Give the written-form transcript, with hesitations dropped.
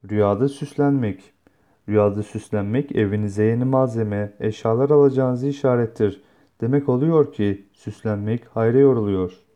Rüyada süslenmek. Rüyada süslenmek evinize yeni malzeme, eşyalar alacağınızı işarettir. Demek oluyor ki süslenmek hayra yoruluyor.